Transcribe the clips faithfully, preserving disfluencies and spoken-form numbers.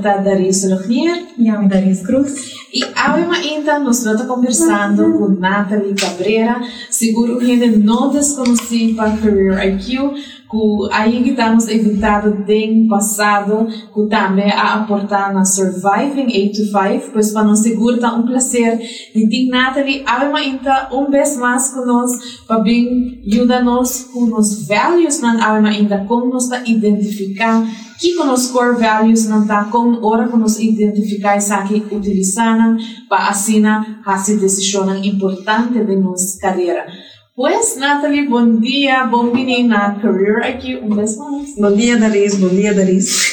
está Daris Rogier. E eu, Daris Cruz. E ainda nós estamos conversando uhum. com Nathalie Cabrera. Seguro que ainda não desconheci para Career I Q, que aí estamos evitando no passado, que também a aportar na Surviving eight to five, pois para nós seguro está um prazer de ter Nathalie ainda um vez mais conosco, para bem ajudar-nos com os values, ainda como nos identificar que com os core values não está como hora que nos identificar isso aqui utilizando para assim fazer decisões importantes de nossa carreira. Pois, Nathalie, bom dia, bom-vindo na Career I Q, um vez mais. Bom dia, Daris, bom dia, Daris.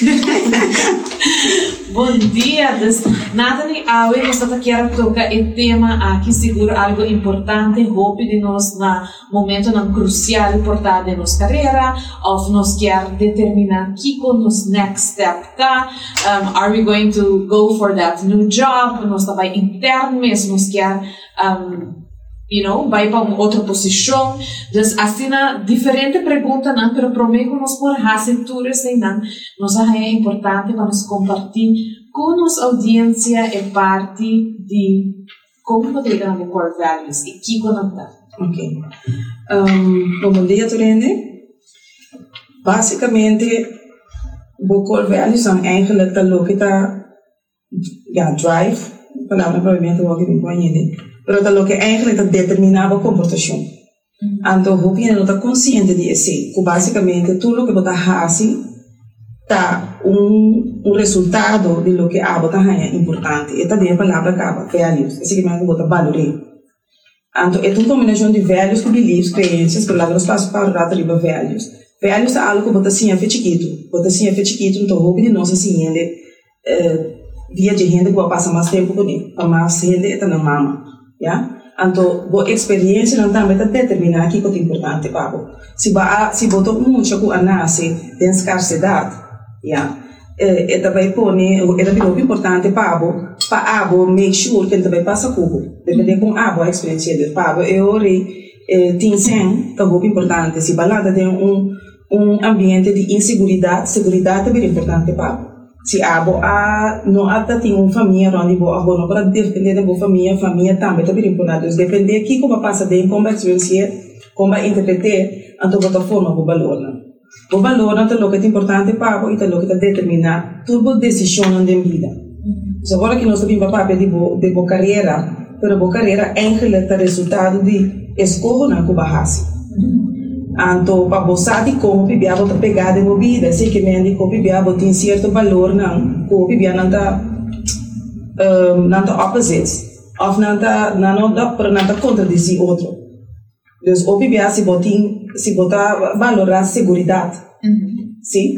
Bom dia, des... Nathalie, hoje nós queremos tocar o tema aqui, seguro algo importante, hope de nós na momento não crucial, importante de nossa carreira, ou nós quer determinar que com nos next step tá, um, are we going to go for that new job, nós também interno mesmo, nós quer um, you know, vai para uma outra posição. Então, assim, diferente pergunta, não, mas prometo que nós por fazer tudo assim, não, nós é importante para nos compartilhar com nossa audiência e parte de como poder ganhar o core values e que conectar. Ok. Um, bom dia, Turende. Basicamente, o core values são eigenlijk dat que está, ja, drive, palavra provavelmente eu vou aqui me conhecer. Pero dat lo que eigenlijk dat determinava comportação. Então, o que não está consciente de isso, que basicamente tudo o que você faz tá um um resultado de lo que a você é importante. E também a palavra acaba values, esse que mais que você valoriza. Então, é uma combinação de values com beliefs, crenças, palavras passo para o riba values. Values é algo que você sim é chiquito, você sim é chiquito, então o que de nós assim ele via de gente que vai passar mais tempo com ele, para mais gente está na mama. Yeah? Então, a experiência não também determina aqui que é importante para você. Se você se botou muito com a nasce de escassidade, yeah? é também põe, é também importante para você, para você make sure que ele também passa com você. Depende com a experiência dele. Para você, eu tenho sim, que é muito importante. Se você tem um um ambiente de inseguridade, segurança é muito importante para você. Se a boa não até tem uma família onde boa boa não para defender da boa família família também é muito importante depender aqui como passa de como experiência como interpretar então outra forma o valor não o valor não é o que é importante para o é o que determina tudo decisão na vida so agora que nós sabemos papel de boa de boa carreira pero boa carreira é o resultado de escolha na cuba-raça. Então, para você de como bebê você pegar de uma vida, sei que me como bebê você tem certo valor não, como bebê não tá não tá opposite, ou não tá não dá para não tá contradizer outro. Então, o bebê se você se você valorar segurança, sim,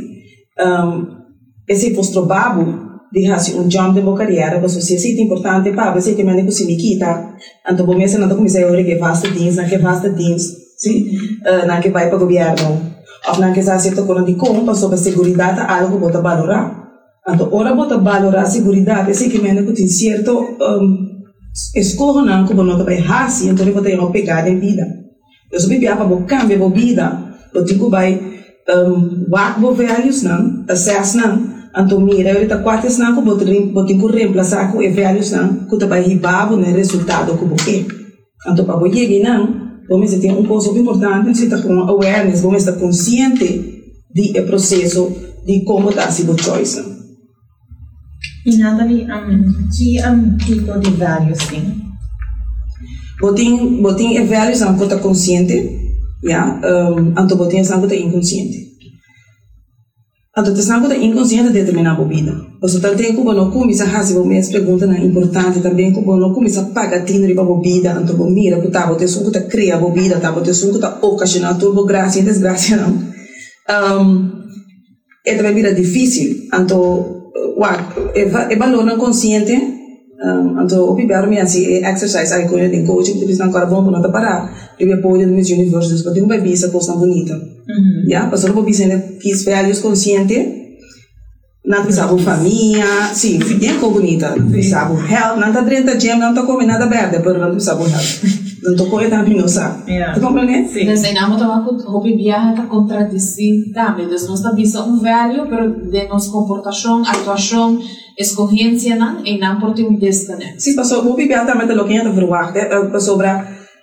esse posto babo de fazer um jump de boa carreira, você se sente importante para você que me se me quita, então você não tá começando a que faz things, não que faz things. Sim, uh, na que vai para o governo, ou na que está certo com de compra sobre a segurança, algo que você valorar. Então, ora você valorar a segurança, esse que mesmo que tem certo escolha não que você vai fazer, então você tem uma pegada em vida. Eu sou bebê para você cambiar a vida, você tem que vai work por values não, assess não. Então, mira, eu estou quatro não que você tem que reemplaçar com os values não, que você vai ribar no resultado que você quer. Então, para você chegar não vamos ter um ponto importante, você está com awareness, vamos estar consciente do processo de como está a sua choice. E Nathalie, um, que um, tipo de values tem? Você tem values que está consciente, yeah? um, então você tem que estar inconsciente. Então, você está inconsciente de determinar a vida. Você tem que não começar a fazer uma pergunta importante também, que não começar a pagar dinheiro para a vida, então você mira que você tem que criar a vida, você tem que ocasionar tudo, graça e desgraça, não. Um, é também vira difícil, então, é valor não consciente, um, então, o primeiro é assim, exercise, aí quando tem coaching, você não quer bom para não parar, porque pode no Miss Universe, você tem uma bebida, coisa bonita. Yeah, pastor, vou dizer que os values conscientes Não te sabe família, sim, é como bonita. Não te sabe health, não te drenta gem, não te come nada verde, mas não te sabe health. Não te come também não sabe. Tu compreende? Sim. Então, nós estamos com o viaje a contradizer também. Então, nós estamos um valor, mas de nossa comportação, atuação, escolhência, não, e não por ter um desconexo. Sim, passou, o viaje também é o que a gente verwacht, passou para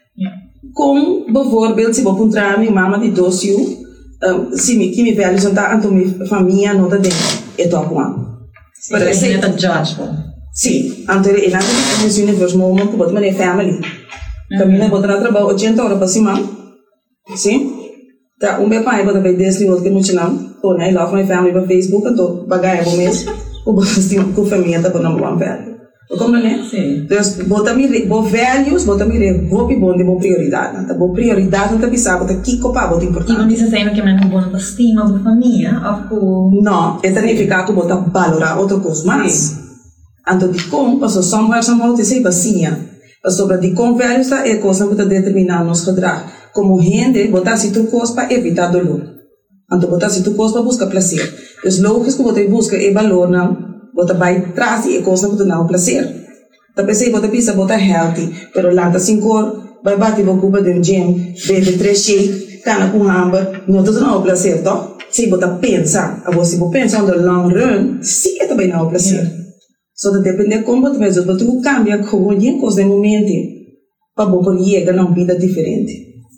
com, bijvoorbeeld, se vou encontrar minha mama de doce, se me que me velho jantar, então minha família não está dentro. É tua com Pero esse é o judge, sim. Então ele não tem que ser universo, mas uma coisa é family. Caminha botar trabalho oitenta horas para cima, sim. Tá um bem pai botar vai desde o outro que não tinha não. Ou né, love my family para Facebook, então pagar é bom mesmo. O botar assim com a família tá bom one velho. Como né? Sim. Então botar me bo values, botar me roupa bom de boa prioridade. Tá boa prioridade não tá pensar, botar que copa botar importante. E não diz assim que é uma boa estima da família, ou não, é significa que botar valorar outra coisa mais. Então de como passou somewhere somehow te sei bacia. Sobre de como velhos é coisa que determinar nosso gedrag. Como gente, botar se tu coisa para evitar dolor. Então botar se tu coisa para buscar prazer. Então lógico que você busca é valor não. Botar vai trás e é coisa que tu não prazer. Então pensei botar pizza botar healthy, pero lá tá sem cor, vai bater uma cuba de um gym, bebe três shake, cana com hambúrguer, não tu não prazer, tá? Se botar pensa, a você vou pensar no long run, sim é também não prazer. So dat depende como tu mesmo, mas tu cambia como em coisa de momento para bom chegar a uma vida diferente.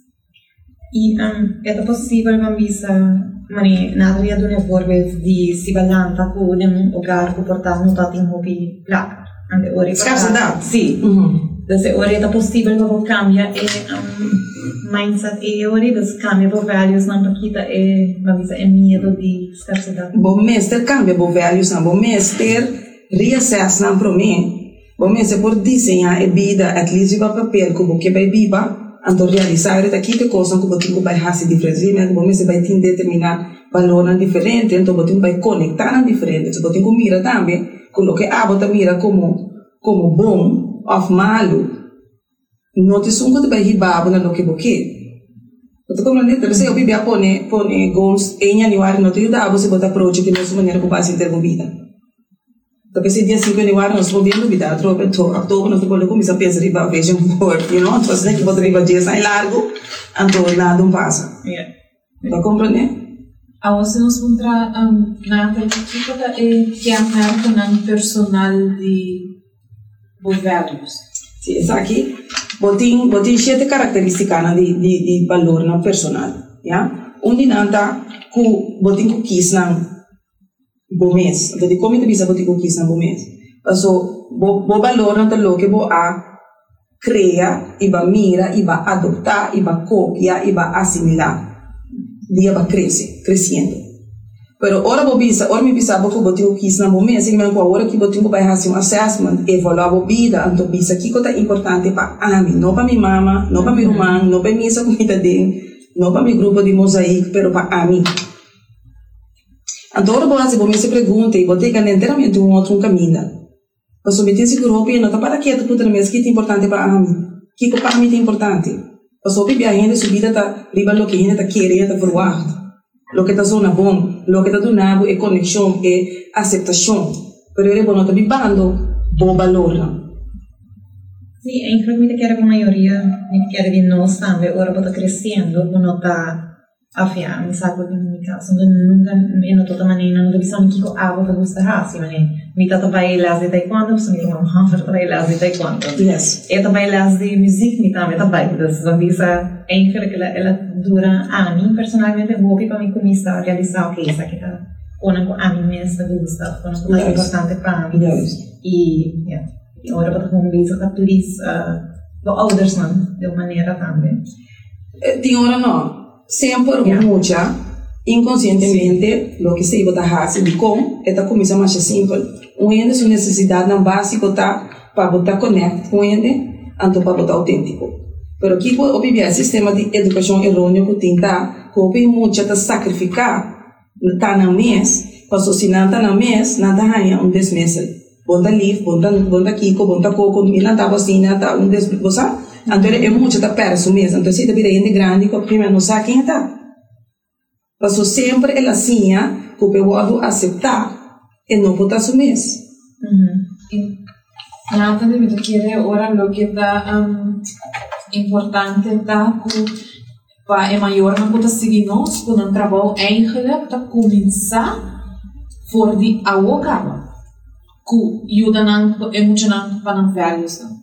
E um, é possível para mim mani nadaria do voorbeeld die si balanta com um lugar que portar não tá tem hobby lá, ande ori. Escassidade. Sim. Então ori é possível para cambiar é um mindset e ori das cambia para values não paquita é para mim é medo de escassidade. Bom mestre cambia para values não bom mestre reassess não para mim, bom mas é por desenhar a vida, at least para papel como que vai viva, então realizar é aqui que coisa que você vai fazer diferente, mas bom mas vai ter determinar valor diferente, então você vai conectar diferente, então você mira também, coloque a bota mira como como bom ou malo, não te sungo de vai ribar na lo que você Então, como não é, se eu bebia pone pone goals em januário não te dá, você bota approach que não é maneira que base ter vida. Tapi se dia cinco de januário nós vamos ver vida, troca então, outubro nós vamos começar a pensar em a vision board, you know, então assim que pode riba dias mais largo, então nada não passa. Yeah. Tá compreender? A você nos contra um, na perspectiva da é que a marca não personal de values. Sim, essa aqui, botin botin sete características de de de valor não personal, já? Onde não tá com botin com quis não bom mês, então de como te bisa botin com quis não bom mês. Então, bo bo valor não tá lo que bo a cria, e ba mira, e ba adoptar, e ba copiar, e ba assimilar. Dia ba cresce, crescendo. Pero ora bo bisa, ora mi bisa bo botin com quis não bom mês, assim mesmo agora que botin com vai fazer um assessment, evaluar a vida, então bisa que coisa importante para a mim, não para minha mama, não para meu irmão, não para minha comida dele, não para meu grupo de mosaico, pero para a mim. Então, ora, você pode se perguntar e você tem inteiramente um outro caminho. Para submeter esse grupo, e não está para quieto, porque também é que é importante para mim. O que para mim é importante? Para subir a gente, subida está riba o que a gente está querendo, está forward. O que está zona bom, o que está donado é conexão, é aceitação. Pero é bom, não está vivendo bom valor. Sim, é inclusive que a maioria que era de nós também, agora está crescendo, não está afia, mi sa che mi caso nunca meno toda maneira não bisogna que a água gusta hasi, mas mi tata vai las de taekwondo, so mi tata hammer vai las de taekwondo. Yes. E também las de music mi também também, das zambisa eigenlijk ela ela dura anni, personalmente vou para mim começar a realizar o que essa que tá com a mim mesma gusta, com o mais importante para mim. E, yeah. E agora para como bisa tá please do others não, de maneira também. Tem hora não. Sempre yeah. Mucha inconscientemente lo que se iba a hacer de como esta coisa mais simples um ende sua necessidade não básico tá para botar connect com ende anto para botar autêntico pero aqui o bibia sistema de educação errôneo que tem tá que o mucha tá sacrificar tá na mês para se não tá na mês nada ganha um desmesel bonta live bonta bonta kiko bonta coco milan tá vacina tá um des você então é muito da perto mesmo então se tá virando de grande que primeiro não sabe quem tá passou sempre ela assim que o peuado aceitar e não pode assumir. Uhum. Nathalie, me quiere ahora lo que está um, importante tá que para é maior não pode seguir nós com um trabalho eigenlijk para começar for de awokaba que ajuda não emocionante para não values não.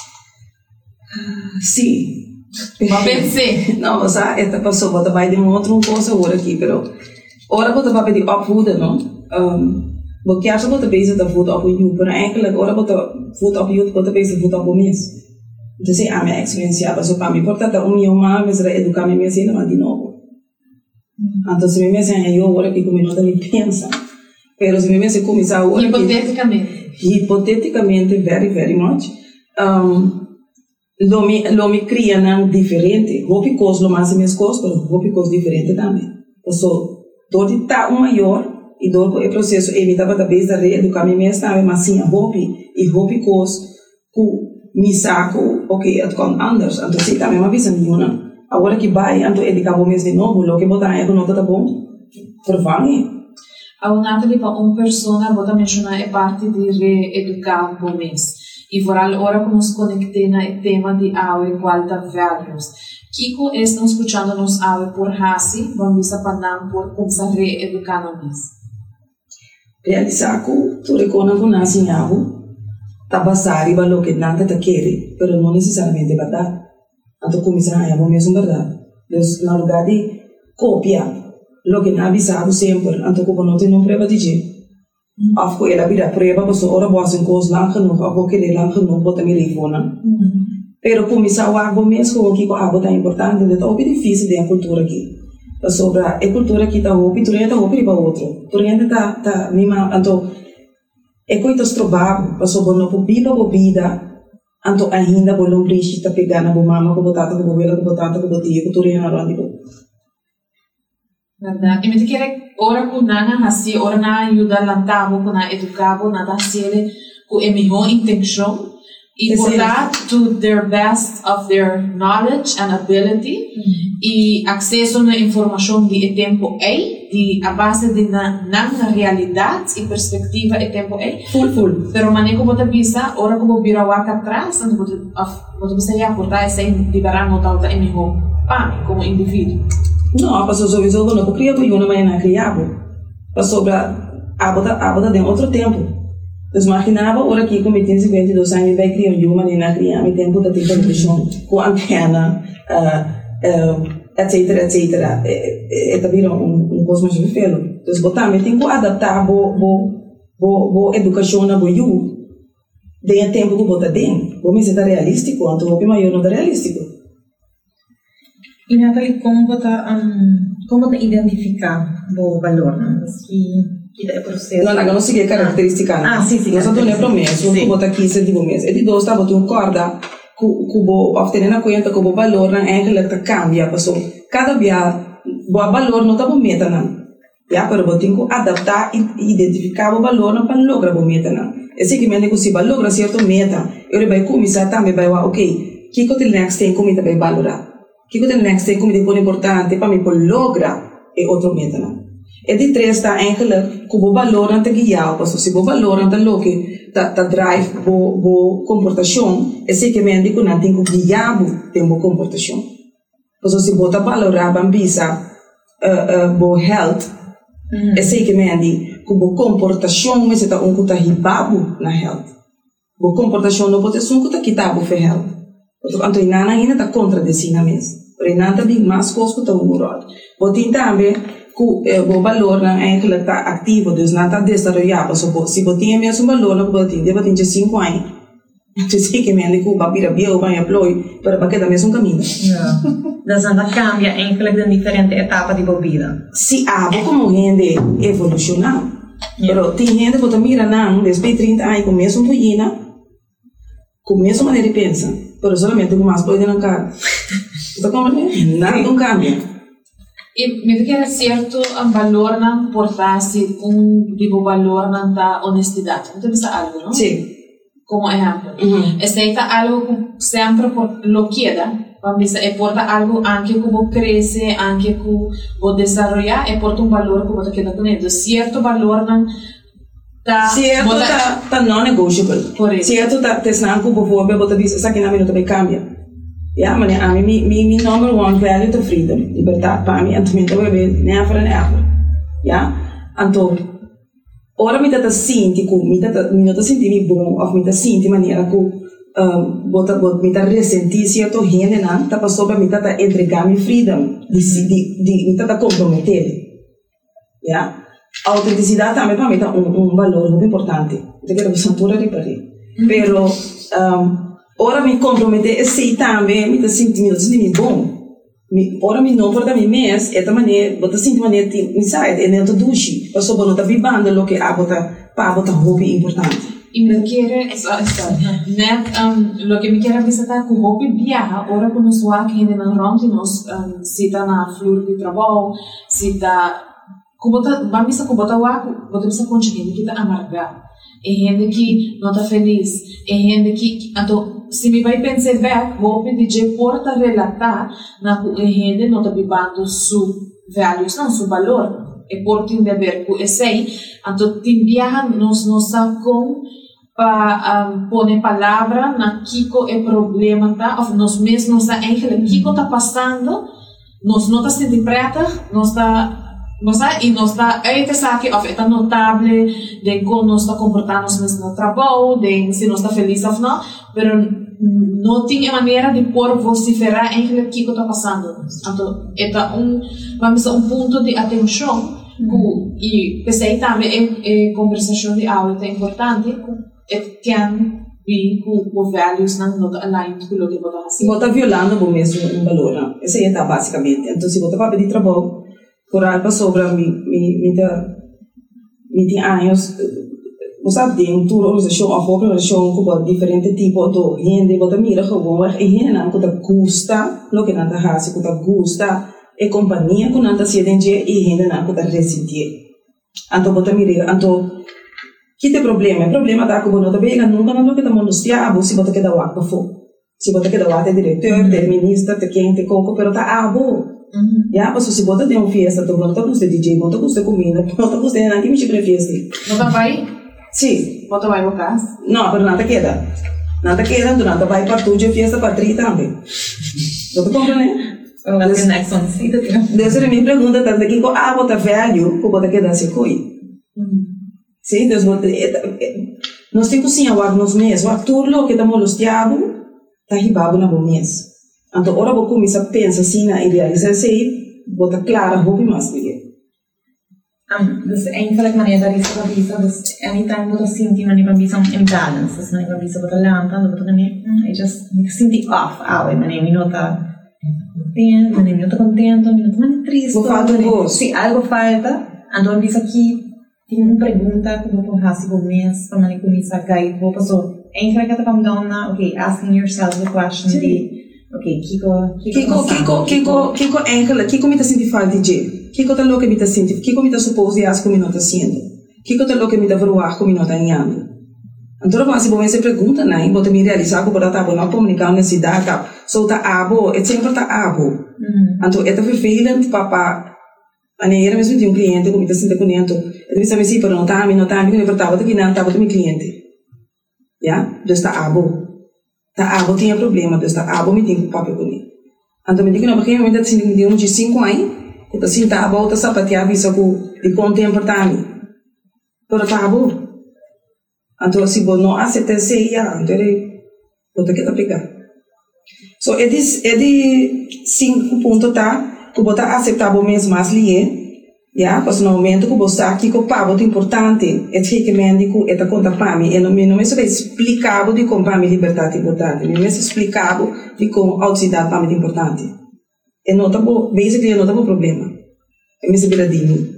Sim. Mas pensei. Não, mas a esta pessoa pode vai de uma outra coisa agora aqui, pero ora pode vai pedir opvoeden, não? Um, porque acha pode bezig dat voet op je, pero eigenlijk ora pode voet op je, pode bezig voet op mes. Então, a minha experiência, mas para mim, portanto, o meu mal, mas era educar minha menina, mas de novo. Então, se minha menina eu agora que como não nem pensa, pero se minha menina começar agora hipoteticamente, hipoteticamente, very, very much, um, lo me lo me cria não diferente, hopi coisa lo mais minhas coisas, pero hopi coisa diferente também. Então, todo está um maior e do o processo evitava da vez da reeducar minha menina também, mas sim a hopi e hopi coisa que me saco, ok, het kan anders. Então, se também uma visão nenhuma. Agora que vai, então ele acabou mesmo de novo, lo que botar aí, não está bom, vervange. A Nathalie, para uma pessoa, vou mencionar é parte de reeducar o mês. E vooral agora que nos conectemos no tema de aue, qualta values. Kiko está escutando nos aue por hasi, vamos a falar por como reeducar o mês. Realizar que tu reconhece que nasce em aue, tá basado em lo que nada te quer, pero não necessariamente é verdade. Então começar a é mesmo verdade. Então, no lugar de copiar lo que não avisado sempre, então como não tem uma prova de jeito. Of que ela vira prova, mas ora boas em coisas lang genoeg, of que querer lang genoeg, bota me telefone. Pero começar a água mesmo, como que a água tá importante, então é difícil de a cultura aqui. Sobre a cultura aqui tá roupa, tu ainda tá roupa para outro. Tu ainda tá tá mima, então é coisas provável, passou por não bebida bebida, então ainda por não precisa pegar na mama, com botata, com bobela, com botata, com botia, com tudo na rua. Verdade. E me quer ora com nana assim, ora na ajuda lantavo, com na educavo, na dar sele, com a melhor intenção e portar to their best of their knowledge and ability e acesso na informação de tempo é de a base de na na realidade e perspectiva é tempo é full full pero manejo bota bisa ora como vira waka atrás and bota bota bisa já portar essa liberar nota alta é melhor para como indivíduo não passou sobre isso não porque eu não mais na criado passou para a bota a bota de outro tempo. Então, imaginava ora aqui com vinte e dois anos vai criar uma menina criar meu tempo da televisão com antena etc etc é também um um cosmos de felo então botar me tem que adaptar bo bo bo bo educação na bo you de tempo que botar dentro vou me ser realístico então vou maior não realístico. E Nathalie, como botar um, como botar identificar o valor não que que processo. Não, não, não segui característica. Ah, sim, sim. Nós não temos promessa, que botar aqui sentido mesmo. E de dois, tá botando um corda, que que bo obter na conta que o valor não é que tá cambia, pessoal. Cada dia, o valor não tá bom meta não. Já, pero botem que adaptar e identificar o valor não para lograr bom meta não. É seguimento que se vai lograr certo meta, eu vai começar também vai ok, que que o next tem como vai valorar. Que que o next tem como é importante para mim por lograr é outro meta não. E de três está eigenlijk que o valor não te guiar, porque se o valor não te lo que ta ta drive bo bo comportação, é seguimento que não tem que guiar bo tem bo comportação. Porque se bota valorar bambisa uh, uh, bo health, é seguimento que bo comportação mas está um que tá ribabo na health. Bo comportação não pode ser um que tá quitabo for health. Então, então inana ainda tá contra desina mesmo. Por inana tá bem mais coisa que tá um rol. Botin também que o valor não é que está ativo, dus não está desenvolvido. Se você tem mesmo valor, não pode ter, deve ter cinco anos. Então, se que me ande que o papiro bem ou bem apoio, para para que da mesmo caminho. Então, não cambia eigenlijk em diferente etapa de vida. Se há como gente evolucionar, mas tem gente que mira não, depois de trinta anos, com mesmo poina, com mesma maneira de pensar, mas solamente com mais poder não cambia. Então, como é? Nada não cambia. E me quer certo um valor não portar-se um tipo valor não da honestidade. Não tem algo, não? Sim. Como exemplo. Uhum. Aceita algo que sempre por lo queda. Vamos dizer, é porta algo anche que você cresce, anche que você desenvolver, é porta um valor que você queda com ele. Certo valor não tá certo tá tá non negotiable. Correto. Certo tá tesnan ku bijvoorbeeld bota bisa sa kina minuto be cambia. Ja, maar a mim mi mi number one value to freedom, liberdade para mim, anto minta we never and ever. Ja? Anto ora mi tata sinti ku mi tata mi nota sinti mi bom of mi tata sinti maniera ku um, bota bota mi tata resenti certo gente na tá passou para mi tata entregar mi freedom di di di mi tata comprometer. Ja? Autenticidade também para mim tá um um valor muito importante. Eu quero que santura reparar. Pero um, ora mi comprometer e sei também me tá sentindo me sentindo bom. Mi ora mi não porta mi mes esta maneira bota sentindo maneira inside e dentro do chi. Passou bom tá vivendo lo que a bota pa bota hobby importante. E me quiere eso eso. Net um lo que me quiere visitar com hobby viaja ora com nos wa que ainda não ronde nos um, se tá na flor de trabalho, se tá kubota bambisa kubota wa bota bisa conseguir que tá amargar. É gente que não está feliz, é gente que, então, se me vai pensar back, vou pedir de porta relatar na que a gente não está vivendo su values, não su valor, é porta em dever que é sei, então tem viaja nos nos com para um, pôr palavra na kiko é problema tá, ou nós mesmos a eigenlijk kiko está passando, nós não está sentindo preta, nós está Nós tá, e nós tá, aí te sabe, of, é notável de como nós está comportando no trabalho, de se nós está feliz ou não, mas não tem maneira de por vociferar em que o que está passando. Então, é um, vamos dizer, um ponto de atenção, mm-hmm. e pensei também é conversação de aula é importante, é que be com values não não aligned com o que você faz. Você está violando o mesmo valor, esse é basicamente. Então, se você está para pedir trabalho por algo sobre mi mi mi da mi tem anos você tem um tour organização a organização com diferente tipo de gente bota mira como é gente não que custa lo que nada faz que custa é companhia que nada se entende e gente não que resistir então bota mira então que tem problema problema da que não tá bem nunca não que estamos nos diabo se bota que dá o para se bota que dá o diretor ministro te quem te coco pero tá abo. Mm-hmm. Ja, mas se bota de um fiesta, tu não tá com D J, não tá com comida, não tá com nada que me chega fiesta. Não tá vai? Sim. Bota vai no caso? Não, mas nada queda. Nada queda, tu não tá vai para tu de fiesta para tri também. Não tá compreendendo? Well, that's the next one. See the deal. Dessa é minha pergunta, tá daqui com a bota velho, com bota queda se coi. Sim, Deus bota nós temos sim a nos mês, o ator lo que tá molestiado, tá ribabo na bom mês. Então, ora vou começar a pensar assim na idealização, sei, botar clara, hobby mais do que. Um, dus eigenlijk wanneer dat is wat is, dus anytime dat zie je wanneer dat is een imbalance, dus wanneer dat is wat de land, dan dat wanneer I just zie die off, ah, wanneer je nota contento, wanneer je nota contento, wanneer je nota triste, wanneer se algo falta, então diz aqui tem uma pergunta que vou fazer por mês, para wanneer começar a guide, vou passar, eigenlijk dat kwam dan na, okay, asking yourself the question de okay, Kiko, Kiko, Kiko, Kiko, Kiko, eigenlijk, Kiko me tá sentindo falta de, Kiko tá louco me tá sentindo, Kiko me tá suposto as como não tá sendo, Kiko tá louco me tá verruar como não tá ganhando. Então, quando você vai se pergunta, né, bota me realizar que bota tá bom, não comunicar na cidade, só tá abo, é sempre tá abo. Então, é tá vervelhante, papá, a neira mesmo de um cliente, como tá sentindo com ele, ele sabe se para não tá, me não tá, me não importava, tá que não tá, bota meu cliente, já, já está abo. Tá abo tinha problema, Deus tá abo me tem que papel com ele. Então me diga não porque eu ainda tinha de um de cinco anos, eu tô assim tá abo tá sapatear isso com de contempo tá ali. Pero tá abo. Então se você não aceita se já, então ele bota que tá pegar. So é de é de cinco pontos tá, que bota aceitável mesmo mais lié. Ja, pas no momento que você aqui com pavo importante, é que que médico é da conta para mim, e não me não me sabe explicado de como para mim liberdade importante, me me explicado de como autoridade para mim importante. É não tá bom, basically não tá bom problema. É me saber de mim.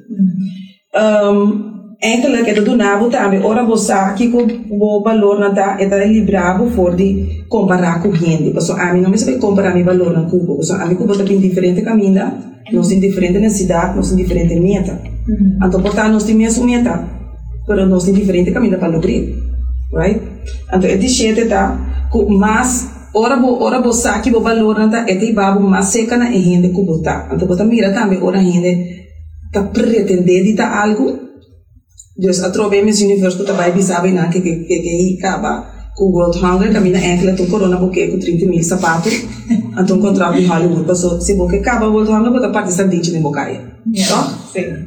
Um, enkele que do nabo também, ora você aqui com o valor na tá, é da librado for de comparar com gente, porque a mim não me sabe comparar meu valor na Cuba, porque a mim Cuba tá bem diferente caminho. Nós temos diferente necessidade, nós temos diferente meta. Mm-hmm. Então, portanto, nós temos mesmo meta, mas nós temos diferente caminho para lograr, right? Então, é de jeito tá, mas ora ora você aqui o valor não tá, é de babo mais seca na gente que botar. Então, você mira também ora gente tá pretender de tá algo, Dus a trove Miss Universe que também bisabe na que que que que acaba com World Hunger caminha enkele tu corona buque com trinta mil sapatos então contrato de Hollywood passou se buque acaba World Hunger bota parte da dicha de bocaia. Tá? Sim.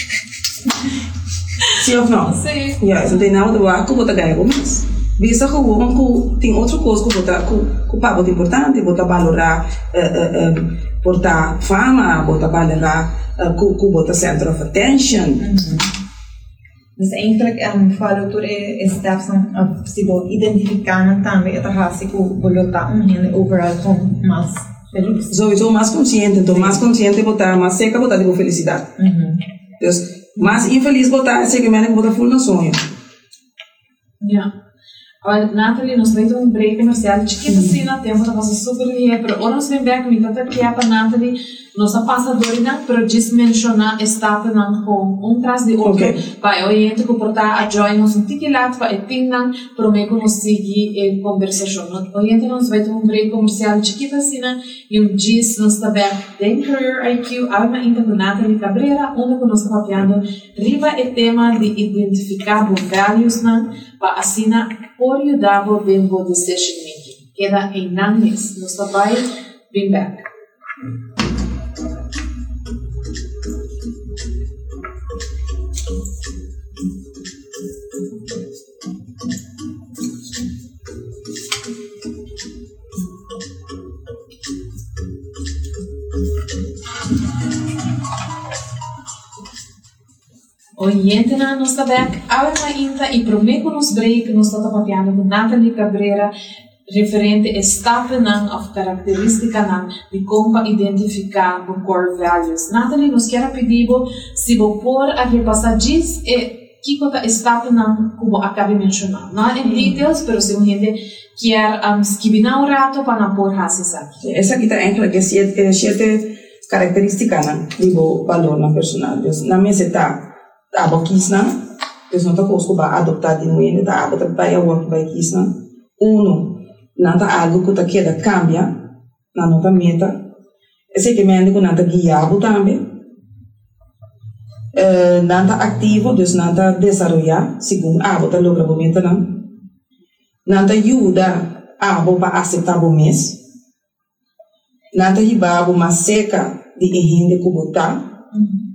Sim ou não? Sim. Ja, então tem nada de boa que bota ganha mais. Visa que o que tem outra coisa que bota que o papo é importante bota valorar portar fama bota valorar que bota center of attention. Dus eigenlijk um, falo tur e steps om se bo identificando também esta raça que bolota um rende overall com mais feliz. Sowieso mais consciente, então mais consciente botar, mais seca botar de felicidade. Uhum. Então, mais infeliz botar, seguramente botar full no sonho. Ja. Olha, Nathalie, nós vamos ter um break comercial chiquito assim na tempo, tá passando super bem, mas agora nós vamos ver que tanta que para Nathalie, nossa passadora não, pero diz mencionar estava não com um tras de outro, para oriente que portar a join nos um tiquilat para etingan, para me conseguir a conversação. Oriente nós vai ter um break comercial chiquito assim e um diz nós está bem den Career I Q, alma ainda com Nathalie Cabrera, onde que nós está papiando riba é tema de identificar os values não, para assinar por ajudar o tempo de decision making. Queda em nannes. Nos vai bem back. Oriente na nossa back, agora ainda e prometo nos break nós estamos papiando com Nathalie Cabrera referente a estapa não of característica não de como identificar o core values. Nathalie nos quer pedir se vou pôr a repassar diz e que coisa estapa não como acabei de mencionar, não em details, mas se a gente quer um, escrever um rato para não pôr raças aqui. Essa aqui está em que é sete características não de valor na personalidade. Na minha está aba kisna, dus não tá conosco para adoptar de novo, tá aba tá para work by kisna. Uno, não tá algo que tá queda cambia, na nota meta. Esse que me ande com não tá guiado também. Não tá ativo, dus não tá desenvolver, segundo aba tá logra o meta não. Não tá ajuda aba para aceitar o mês. Não tá riba mais seca de rende que botar.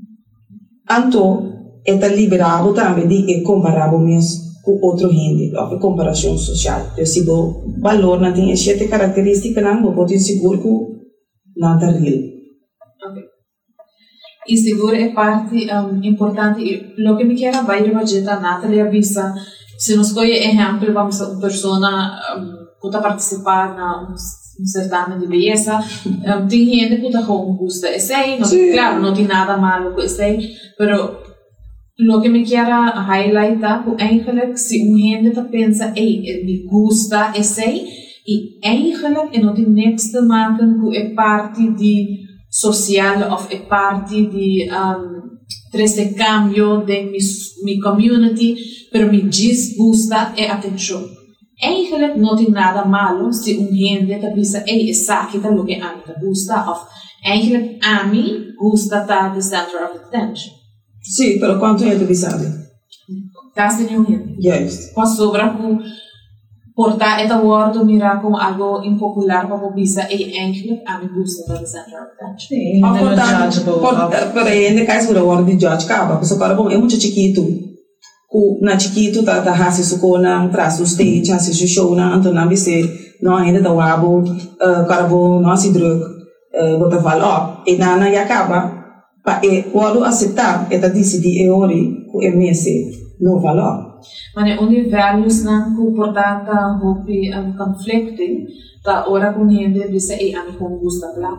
Anto eta liberado também de comparar mesmo com outro rende, ou comparação social. Então, se o valor não tem sete características, não pode ter seguro que não está real. Ok. E seguro é parte um, importante. O que me quero vai rebaixar a Nathalie avisa, se nos escolhe exemplo, vamos uma pessoa que está participar na um certame de beleza, um, tem gente que está com gosto esse aí, claro, não tem nada malo com esse aí, pero lo que me quero highlightar é eigenlijk se um gente tá pensa, ei, me gusta esse aí, e eigenlijk é não tem niks te maken com é parte de social ou é parte de um, trece cambio de mi, mi community, pero me disgusta é atenção. Eigenlijk não tem nada malo se um gente tá pensa, ei, essa aqui tá lo que a mim tá gusta, ou eigenlijk a mim gusta tá the center of attention. Sim, pero quanto é tu sabe? Casi nenhum rende. Yes. Posso sobrar com portar esta word mirar como algo impopular para o bisa e eigenlijk a mim gusta da center of attention. Sim, não é judgeable. Pero ainda cai sobre a word de judge caba, porque para bom é muito chiquito. Ku na chiquito tá tá hasi suko na traço stage, hasi show na então na bise não ainda tá wabo, carbo não se drug, bota val up e na na acaba pa e quando aceitar e tá decidir e ori ku M S no valor. Mas onde values não comportata hopi um conflicting, tá ora com gente bisa e a mim como gusta lá.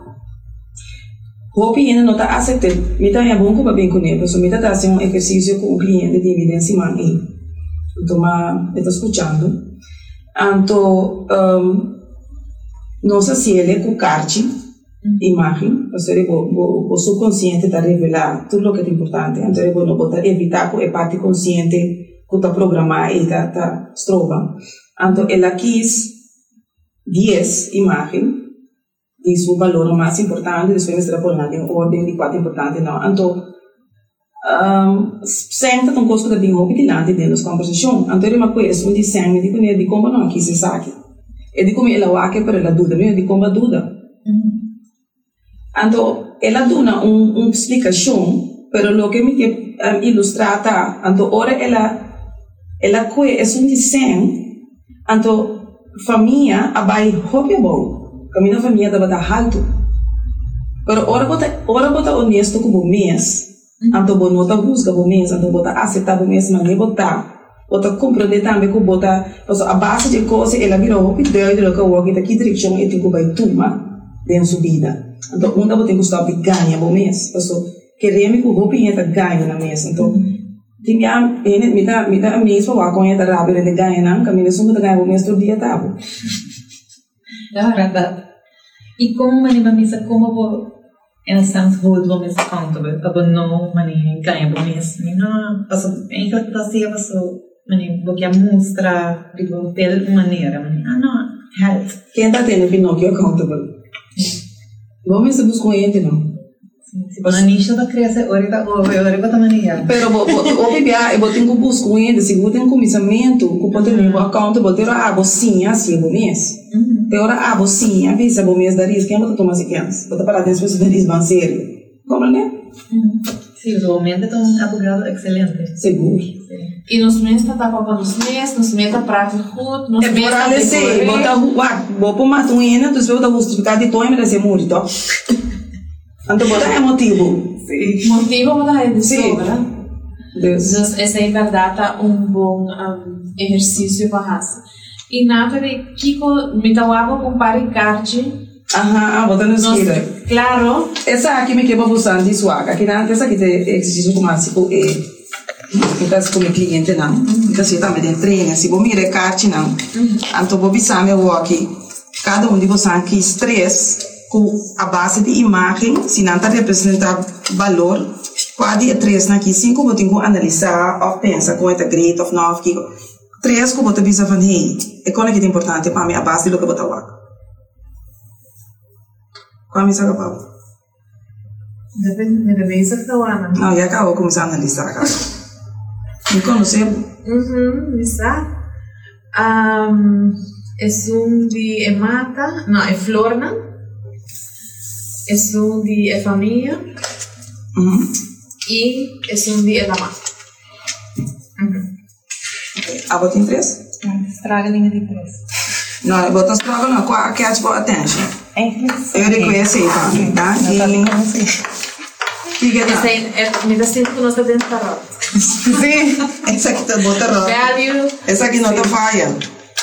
Hopi ainda não está aceitando. Então é bom que eu bem com ele. Porque eu estou fazendo um exercício com um cliente de evidência mãe. Então, eu estou escutando. Então, um, não sei se ele é com carte, imagem, porque o subconsciente está revelar tudo o que é importante. Então, eu não vou evitar que a parte consciente que está programada e está estroba. Então, ela quis dez imagens. Diz o valor mais importante, depois nós trabalhamos em ordem de quatro importante não. Então, Um, sempre tem um coisa que bem roupa que lá dentro das conversações. Então ele me conhece um de sangue, de como de como não aqui se sabe. E de como ela vai que para ela dúvida, mesmo de como dúvida. Então ela dá uma uma explicação, pero lo que me que um, ilustrar tá. Então ora ela ela conhece um de sangue. Então família abai roupa bom, caminho família da bata alto. Pero ora bota ora bota honesto com o mês. Anto bo nota busca bo mês, anto bota aceitar bo mês, mas nem botar, bota compreender também que bota, porque a base de coisa ela virou o pedido de lo que o que tá aqui direção é tipo vai tuma dentro subida. Então onda bota que stop ganha bo mês, porque queremos que o roupa ainda ganha na mês, então tinha ele me dá me dá mês para o conha da rápido de ganha não, caminho só de ganha bo mês todo dia tá bo. É verdade. E como maneira missa como bo en stans hold vad man accountable aber no man är ganha på mes mina alltså enkelt att se vad så man är boka mostra de fel maneira man ah no help quem tá tendo Pinóquio accountable vamos se buscar ele não se você nicho da criança ora da ora da maneira pero bo o bebia e botem que buscar ele seguro tem comissamento que pode ter accountable ter a sim assim bo mês Teora a sim, avisa bo mês da risco, quem bota tomar sequência? Bota para dentro da risco bem sério. Como né? Sim, realmente é um advogado excelente. Seguro. E nos meses tá para nos meses, nos meses tá para tudo, nos meses tá para ser, bota wa, bota uma tuina, tu bota justificar de toime da ser muito. Então bota é motivo. Sim. Motivo bota é de sobra. Deus. Então essa é verdade um bom um, exercício para raça. E Nathalie, Kiko, me tawabo com paricarte. Aham, bota no esquerda. Claro. Essa aqui me quebra bastante suaga. Aqui não, essa aqui tem exercício como assim, é, então se como cliente não, então se também tem treino, se você mira carte não, então você sabe o aqui, cada um de vocês aqui estresse com a base de imagem, se não está representando valor, pode três aqui, cinco você tem que analisar ou pensar com esta great ou não, três que você visa van hey, é qual é que é importante para mim a base do que você vai. Qual é a minha palavra? Depende da mesa que eu amo. Não, já acabou começar a analisar agora. Me conhece? Uhum, me sabe. Um, é um de é mata, não é florna. É um de é família. Uhum. E é um de é da mata. Uhum. A bota em três? Estraga a linha de três. Não, eu boto estraga não, qual que é a tua atenção? É, eu reconheço aí também, tá? Não tá bem como assim. Que que é? Essa é, me dá sempre que nós está dentro da roda. Sim, essa aqui tá bota roda. Value. Essa aqui não tá falha.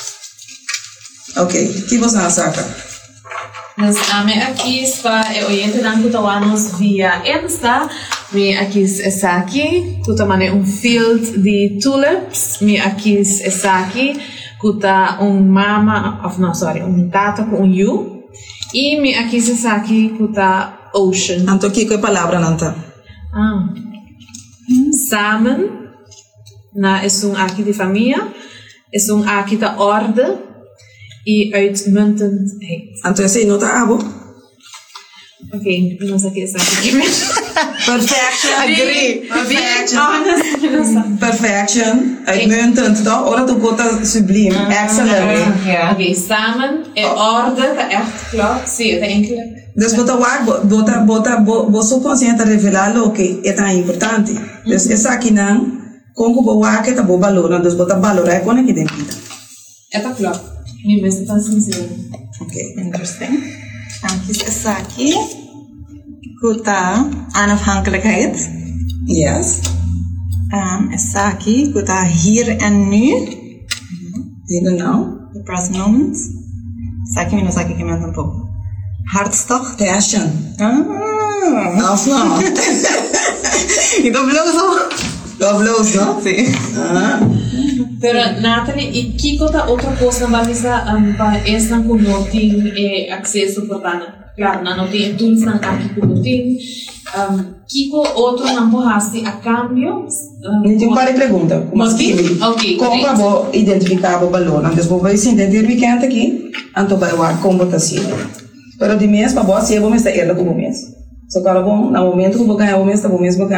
Ok, o que você saca? Mas a minha aqui está, eu oriento dan kutawanos via Insta. Mi aqui está aqui, kutamane um field de tulips. Mi aqui está aqui, kuta um mama, of no sorry, um tata com um you. E mi aqui está aqui, kuta ocean. Então que que palavra não tá? Ah. Samen, na é um aqui de família, é um aqui da ordem. E uitmuntendheid. Então esse não tá abo? Ok, nós aqui está aqui mesmo. Perfection, agree. Perfection. Perfection, uitmuntend, toch? Ora tu bota sublime, excellent. Ok, samen é ordem, tá echt klaar. Sim, tá enkele. Dus bota waar, bota, bota, bo subconsciente revelar lo que é tão importante. Dus essa aqui não, como bo waar que tá bo valor, dus bota valor é quando que tem vida. É tá klaar. Mi beste tá sincero. Ok, interesting. Dan kies essa aqui. Kuta onafhankelijkheid. Yes. Um, essa aqui, kuta hier en nu. Hier en now. The present moments. Essa aqui, minus aqui que me um pouco. Hartstocht. Passion. Ah. Of não. E do bluso. Do bluso, não? Sim. Ah. Pero Nathalie, e Kiko tá outra coisa na valisa para essa com não tem é acesso portanto, claro, não tem tools na aqui com não tem. Kiko outro não pode a cambio. Me tem uma pergunta, como assim? Ok. Como eu vou identificar o valor? Antes vou ver se entender o weekend aqui, então vai lá como está sendo. Pero de mês para você, vou me estar ela como mês. Só que agora bom, no momento que vou ganhar o mês, tá bom mês vou ganhar.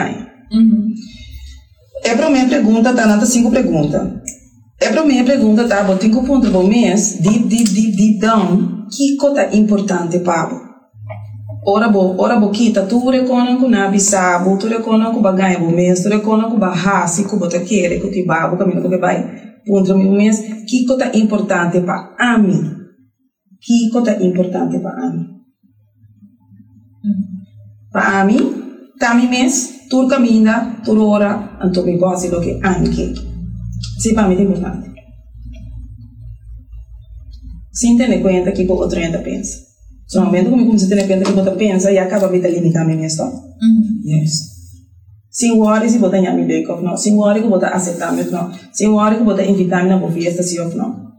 Uhum. É para minha pergunta, tá? Nada cinco perguntas. É para minha pergunta, tá? Vou ter que ponto do mês, deep, deep, deep, deep down, que coisa importante para ora bo, ora bo kita, tu reconan com nabi sabo, tu reconan com baganha bo mês, tu reconan com bahasi, com bota querer, com tibabo, caminho que vai, ponto meu mês, que coisa importante para a mim, que coisa importante para a mim, para a mim, tá mi mês, tu caminha, tu ora, anto me gosta do que a mim que, se para mim é importante. Sem ter conta que o outro ainda pensa. No momento que eu comecei a ter conta que o outro pensa, e acaba me limitando a minha história. Yes. Sem worry se botar em me ou não, sem worry que botar aceitar me não, sem worry que botar invitar me na boa festa se ou não.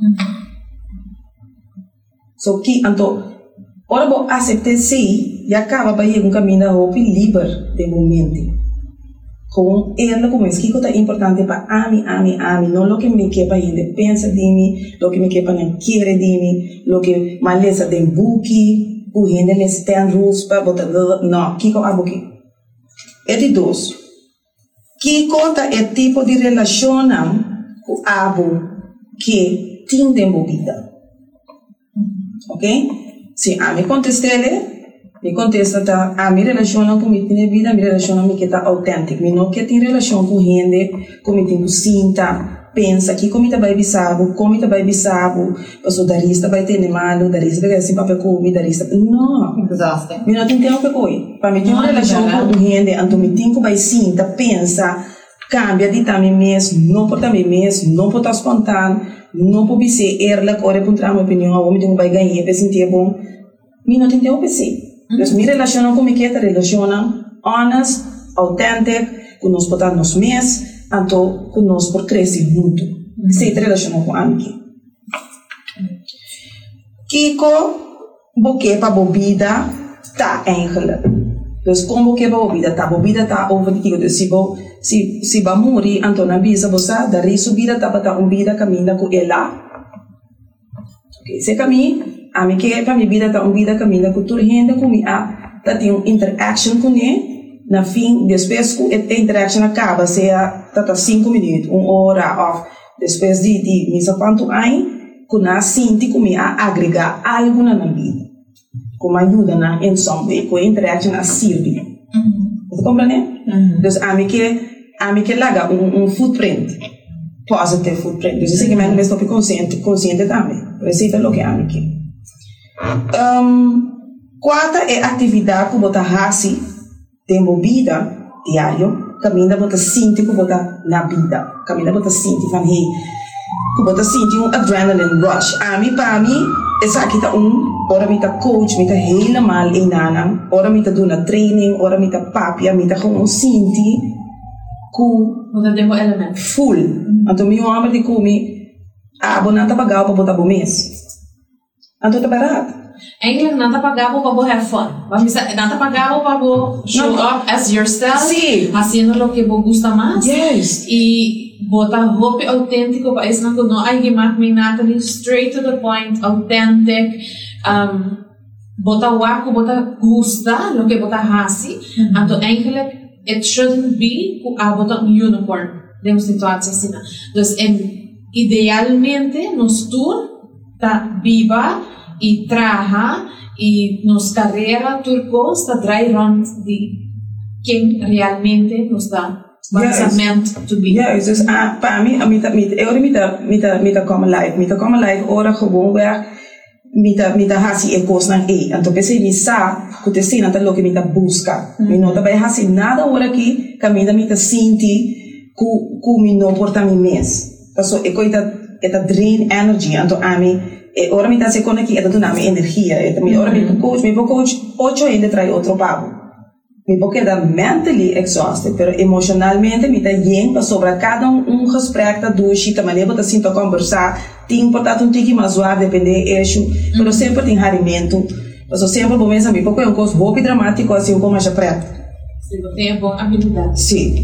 So que então, ora bo aceitar se e acaba para ir um caminho da roupa livre de momento. Com ela começa que é importante para a mim, a mim, a mim, não o que me quer para gente pensa de mim, o que me quer para não querer de mim, o que me lesa de buki, o gente lesa ten rules para botar não, que é a buki. É de dois. Que conta é tipo de relação com a abo que tem de vida, ok? Se a mim contestele me contesta tá a minha relação com minha vida, minha relação com que tá autêntica, me não que tem relação com gente, com me tem sinta, pensa que como tá vai bisabo, como tá vai bisabo, passo darista vai ter malo, darista vai assim para comer, darista não, desastre. Me não tem tempo para comer, para me ter uma relação com gente, então me tem que vai sinta, pensa, cambia de também mesmo, não por também mesmo, não por estar espontâneo, não por ser erla, corre para entrar minha opinião, ou me tem que vai ganhar, para sentir bom, me não tem tempo para ser. Então, me relacionam com que relacionam honest, autêntico, que nós podemos nos mês, então que nós por crescer junto. Se relacionam com a mim. Kiko, boque para bebida, tá engela. Então, como que a bebida tá, bebida tá over de que se bo, se se ba morrer, então na bisa você da subida tá para um vida caminha com ela. Ok, se caminha a mim que para minha vida tá uma vida caminha com toda gente com mim a tá tem uma interaction com ele na fim depois que a interaction acaba se a tá tá cinco minutos uma hora off depois de de misa quanto aí com a sinti com mim a agregar algo na minha vida como ajuda na em some com a interaction a servir você compreende? Então a mim que a mim que larga um um footprint positive footprint então isso que me me estou consciente consciente também receita lo que a mim que Um, quarta é atividade que você faz tem vida diário, caminha você sente que você na vida, caminha você sente van hey, que você sente um adrenaline rush. A mim para mim essa aqui tá um, ora me tá coach, me tá helemaal em nana, ora me tá dando training, ora me tá papi, me tá como sente que você tem um elemento full. Então meu homem de comer a bonata pagar para botar bom mês. Então tá barato. Eigenlijk nada pagavo para have fun. Vamos nada pagavo para show up as yourself. Sí. Haciendo lo que vos gusta más. Yes. Y botar roupa auténtico para isso não não hay que me Natalie straight to the point, authentic. Um, botar waco, botar gusta lo que botar hasi. Mm-hmm. Então eigenlijk it shouldn't be a botar um unicorn de uma situação assim. Então, idealmente nos tour tá viva e traja e nos carreira turco está dry run de quem realmente nos dá what's meant to be. Ja, dus uh, para mim, met met eu met met met como live, met como live ora gewoon weer met met hasi e coisa na e, então que se me sa, que te sina tá lo que me tá busca. Me não tá vai hasi nada ora aqui, caminha me tá senti ku ku me não porta me mes. Então é coisa é tá drain energy, então a mim e ora mi ta se conecta e dona mi energia e mi ora mi coach mi coach ocho ainda trai outro papo mi porque da mentally exhausted pero emocionalmente mi ta yen para sobre cada um um gesprek da duas e também leva assim para conversar tem importante um tiki mais suave depende eixo pero sempre tem harimento mas sempre bom mesmo mi porque é um coisa roupa dramático assim como já preto se você tem boa habilidade sim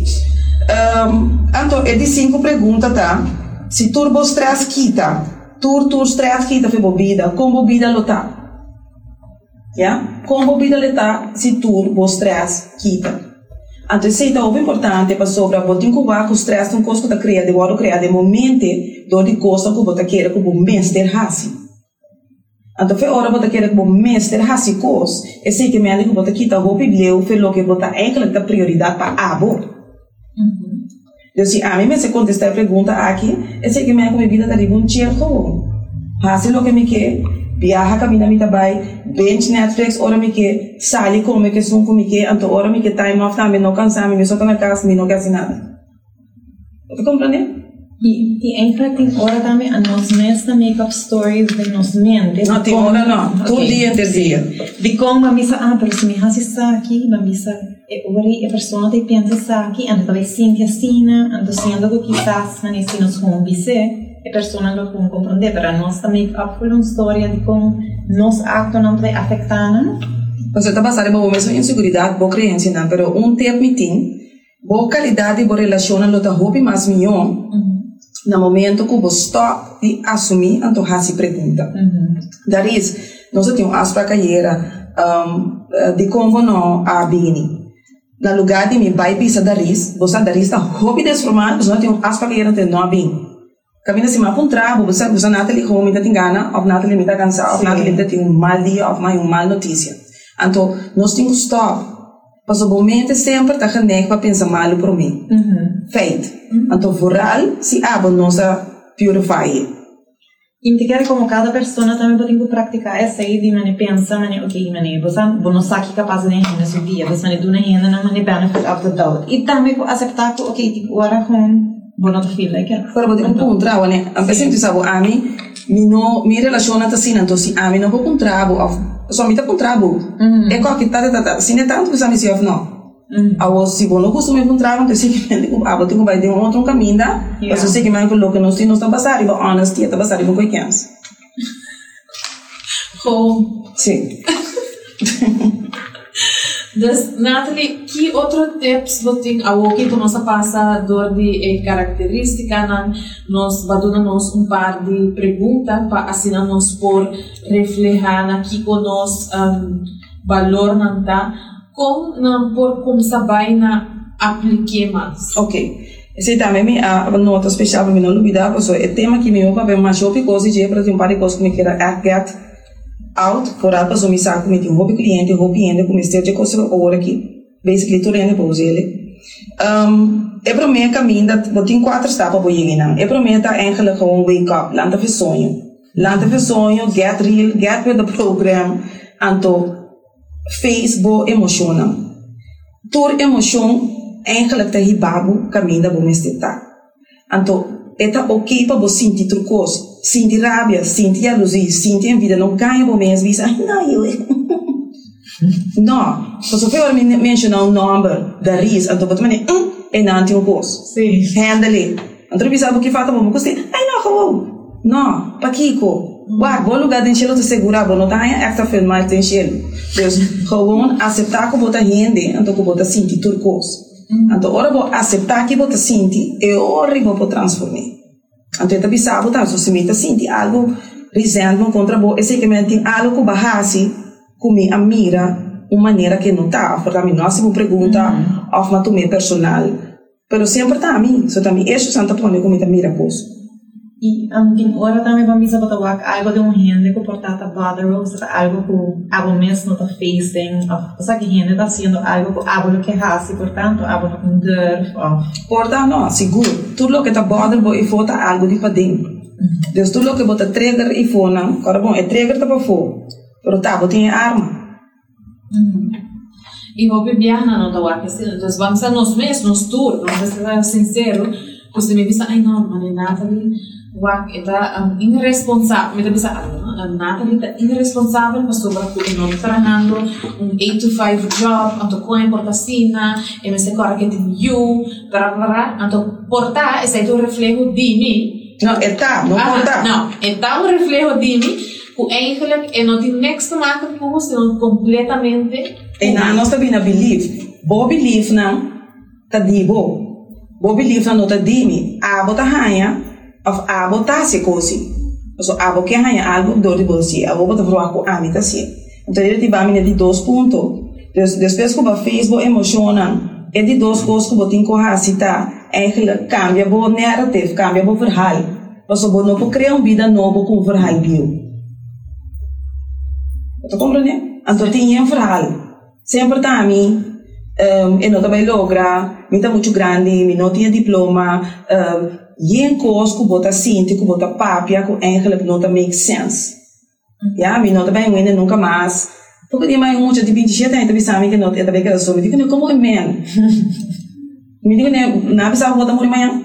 um, então é de cinco perguntas tá se turbo stress quita Tur tur stress kita fe bebida, com bebida lota. Ja? Com bebida lota, se tur bo stress kita. Então, isso é muito importante para sobre botar com o stress um coisa que está criado, de hora criado de momento, do de coisa que você quer que o mestre haja. Então, foi hora você quer que o mestre haja coisa, é sei que me que você quita o bibleu, foi lo que você eigenlijk a prioridade para abo. Então, se a mim me se contestar a pergunta aqui, é sei que me que minha vida está de bom dia com haja lo que me quer, viaja caminha me trabalho, bench Netflix, ora me que sali come que sum come que, então ora me que time off também não cansar me só estou na casa me não quer nada. Você compreende? E e eigenlijk tem hora também a nós mesma make-up stories de nós mente. Não tem hora não, todo dia de dia. De como a missa ah, pero se me hace isso aqui, a missa é ora a pessoa tem pensa isso aqui, então talvez sim que assim, então sendo que quizás na nesse nos como bise a pessoa não pode compreender, para nós também make-up foi uma história de como nos actos não vai afetar, não? Você está passando por uma mesma inseguridade, boa crença, não, pero um tempo me tem, boa qualidade, boa relação, não está roupa mais melhor, no momento que você está de assumir, então já se pergunta. Daí, nós temos as para carreira, de como não a bini. No lugar de me vai pisar daí, você daí está roupa desformada, você não tem as para carreira de não a bini. Caminha assim, mas um trabalho, você você não tem como me tem gana, ou não tem me tem cansado, ou não tem tem um mal dia, ou mais um mal notícia. Então, nós temos que stop. Mas o momento sempre está genérico para pensar mal por mim. Feito. Então, vooral se abo nossa purify. E te quer como cada pessoa também pode praticar essa aí de maneira pensar, maneira ok, maneira você não sabe capaz de entender nesse dia, você maneira do nada na maneira benefit of the doubt. E também aceitar que ok, tipo agora com bono to feel like it. Pero botar um contrato, né? A pessoa que sabe a mim, me não me relaciona assim, então se a mim não vou contrato, só me tá contrato. É qual que tá tá tá, se não tanto que a mim se não. A o se bono costume contrato, então se que me ah, botar um vai de um outro caminho, mas eu sei que mais coloca nós temos não passar, e honesty, está passar com coisas. Oh, sim. Dus, Nathalie, que outro tips você tem aqui para nossa passador de característica, nós baduna nós um par de perguntas para assim nós por refletir aqui com nós um, valor não tá, como não por como saber na aplique mais. Ok. Esse também me a nota especial para mim não olvidar, porque é tema que me eu para ver mais shopping coisa de para ter um par de coisas que me queira get out for a pessoa me sabe como tem um hobby cliente, um hobby cliente como este de coisa agora aqui, basically tudo é para ele. Um, é para mim caminho da botin quatro etapas para chegar não. É para mim tá eigenlijk gewoon wake up, lanta ver sonho, lanta ver sonho, get real, get with the program, anto Facebook emocional. Tur emoção eigenlijk tá hibabu caminho da bom este tá. Anto é tá ok para você sentir trucos. Sinti rabia, sinti alusi, sinti envidia, não ganha por mês, diz, ai, não, eu. Não, se você for mencionar um número da risco, então você vai dizer, é não tem um curso. Sim. Handle. Então, você sabe o que falta para você? Ai, não, como? Não, para Kiko. Uau, bom lugar de encher, te segurar, bom, não tá aí, extra filmar, te encher. Então, gewoon aceitar que você rende, então que você sente turcos. Então, ora, você aceitar que você sente, e ora, você transformar. Então, eu pensava, tá, se você sente algo resentment contra você, esse que me tem algo que barrasse, que me admira, uma maneira que não está, porque a mim não é uma pergunta, ou uma tomé personal, mas sempre está a mim, so também, isso santa põe que me admira coisa. E um, ora também vamos a botar algo de um rende que portata bother ou algo que abo mesmo está facing, ou seja, que rende está sendo algo que abo que hace, portanto, abo com dor, ou portanto, não, seguro, tudo o que está bother bo e fota algo de para dentro. Então, tudo o que bota trigger e fona, agora bom, é trigger tá para fora, pero tá, botinha arma. E vou beber na nota waka, então vamos a nós mesmos, tour, vamos ser sincero, você me diz, ai não, mas Nathalie, wak está um, irresponsável, me dá pensar, a Nathalie está irresponsável para sobre o nome trabalhando um eight to five job, então com a importacina, e me se corre que tem you, para para, então portar esse é o reflexo de mim. Não, é tá, não portar. Não, é tá o reflexo de mim, que eigenlijk é não tem next to maken com você, não completamente. E na nós também na belief, bo belief não, tá dibo. Bo belief não tá dimi, a bota hanha, of a bota se cosi. So a bo que hanha algo do de bolsi, a bo bota pro com a mita se. Então ele te vai me de dois pontos. Depois que o Facebook emociona, É de duas coisas que você tem que citar. Eigenlijk cambia o narrativo, cambia o verhaal. Você não pode criar uma vida nova com um verhaal bio. Você compreende? Então tem um verhaal. Sempre está a mim, um, eu não também logra, eu estou muito grande, eu não tenho diploma, um, e em coisas que você sente, que você papia, que eigenlijk não make sense. Ja, eu não também winne nunca mais. Porque tem mais um monte de vinte anos, eu sabe que não é também que eu sou, eu digo, como é man? Eu digo, não precisa voltar morrer amanhã.